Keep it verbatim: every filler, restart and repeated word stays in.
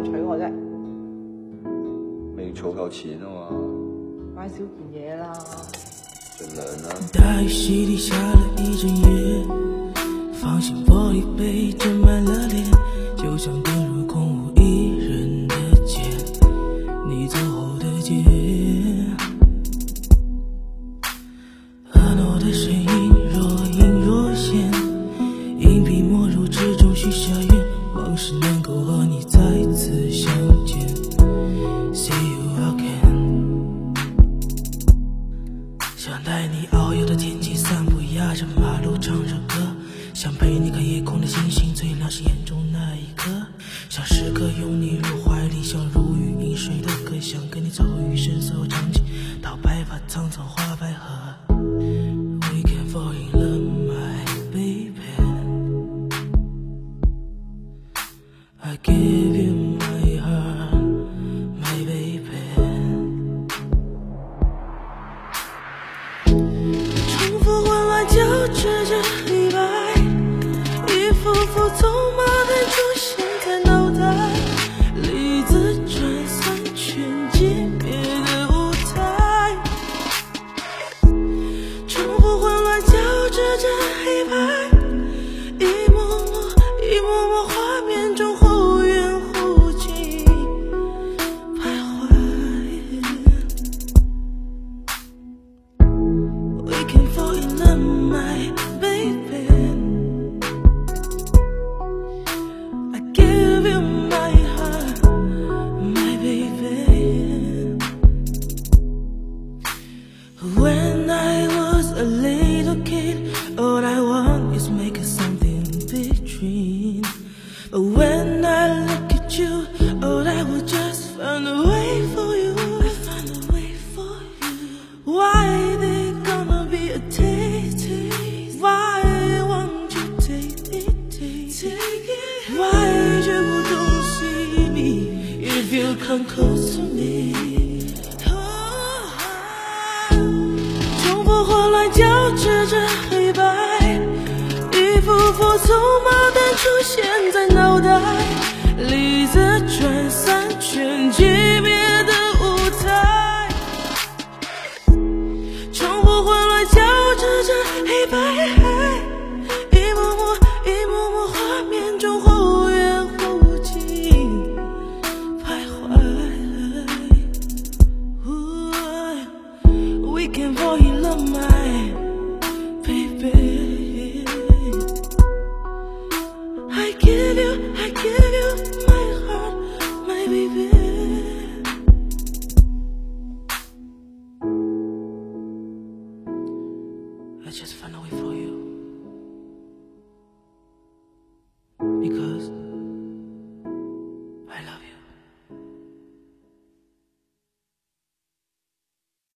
人娶我啫？ 未儲夠錢啊嘛， 買少件嘢啦。 盡量啦。 大雨洗禮下了一整夜，放心玻璃杯斟滿了臉，就像遁入空無一人的街，你走後的街，婀娜的身影若隱若現，硬筆沒入之中許下願，往事能夠和你再次相見。See you again， 想帶你遨遊的天際散步，壓着馬路唱着歌，想陪你看夜空的星星，最亮是眼中那一顆，想時刻擁你入懷裡，像如雨飲水的歌，想跟你走餘生所有場景，到白髮蒼蒼花百合。We can fall in love, my baby. I give you my heart, my baby. 重复混乱交织着黑白，一幅幅走马灯出现在脑袋，离自转散全级别的舞台。重复混乱交织着黑白，一幕幕一幕幕画面中忽远忽近徘徊。We can fall in love, my baby. I give you my heart, my baby. When I was a little kid, all I want is make us something between. When I look at you, all I will just find a way for you. I find a way for you. Why they gonna be a taste? Why won't you take it, take it? Why you don't see me if you come close to me? 重复混乱交织着